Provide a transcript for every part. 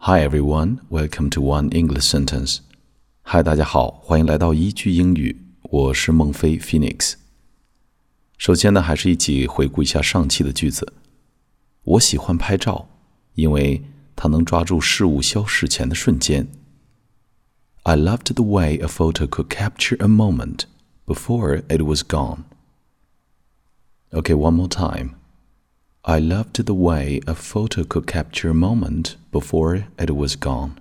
Hi everyone, welcome to One English Sentence. Hi, 大家好，欢迎来到一句英语，我是孟非 Phoenix。首先呢，还是一起回顾一下上期的句子。我喜欢拍照，因为它能抓住事物消逝前的瞬间。I loved the way a photo could capture a moment before it was gone. Okay, one more time. I loved the way a photo could capture a moment before it was gone.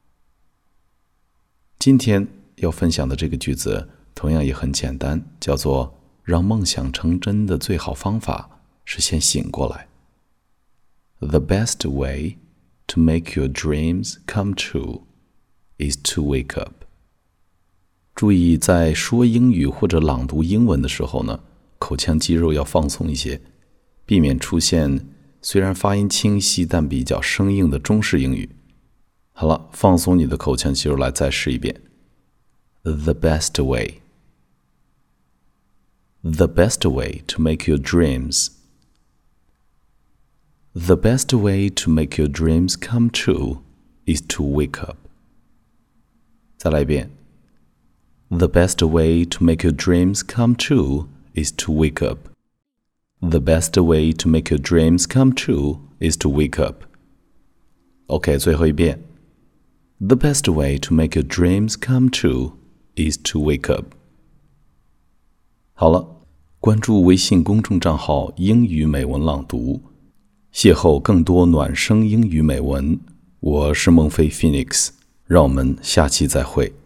今天要分享的这个句子同样也很简单，叫做让梦想成真的最好方法是先醒过来。The best way to make your dreams come true is to wake up. 注意在说英语或者朗读英文的时候呢，口腔肌肉要放松一些，避免出现虽然发音清晰但比较生硬的中式英语。好了，放松你的口腔肌肉，来再试一遍。The best way. The best way to make your dreams. The best way to make your dreams come true is to wake up. 再来一遍。The best way to make your dreams come true is to wake up. The best way to make your dreams come true is to wake up. OK, 最后一遍。The best way to make your dreams come true is to wake up. 好了，关注微信公众账号英语美文朗读，邂逅更多暖声英语美文。我是孟非 Phoenix， 让我们下期再会。